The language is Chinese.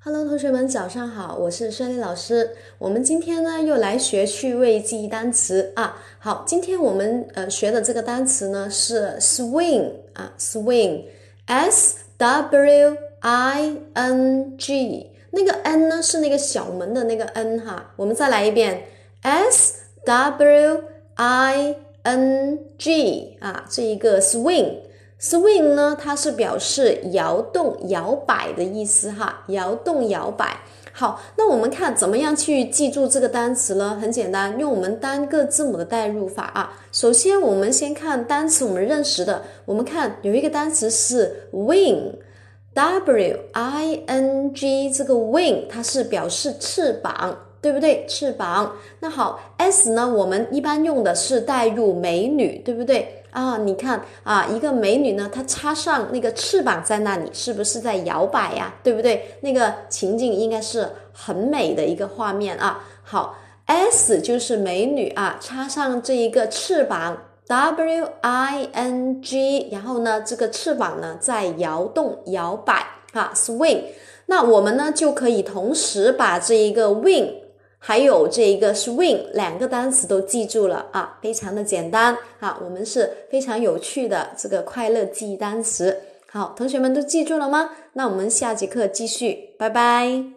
Hello，同学们，早上好，我是孙丽老师。我们今天呢又来学趣味记忆单词啊。好，今天我们学的这个单词呢是 swing 啊 ，swing，S W I N G， 那个 N 呢是那个小门的那个 N 哈。我们再来一遍 ，S W I N G 啊，这一个 swing。swing 呢，它是表示摇动、摇摆的意思哈，摇动、摇摆。好，那我们看怎么样去记住这个单词呢？很简单，用我们单个字母的代入法啊。首先，我们先看单词我们认识的，我们看有一个单词是 wing，W I N G， 这个 wing 它是表示翅膀。对不对？翅膀。那好 S 呢，我们一般用的是代入美女，对不对啊？你看啊，一个美女呢，她插上那个翅膀在那里，是不是在摇摆呀？对不对？那个情景应该是很美的一个画面啊。好 S 就是美女啊，插上这一个翅膀 W I N G， 然后呢，这个翅膀呢在摇动摇摆啊 swing。那我们呢就可以同时把这一个 wing还有这一个 swing 两个单词都记住了啊，非常的简单啊，我们是非常有趣的这个快乐记忆单词。好，同学们都记住了吗？那我们下节课继续，拜拜。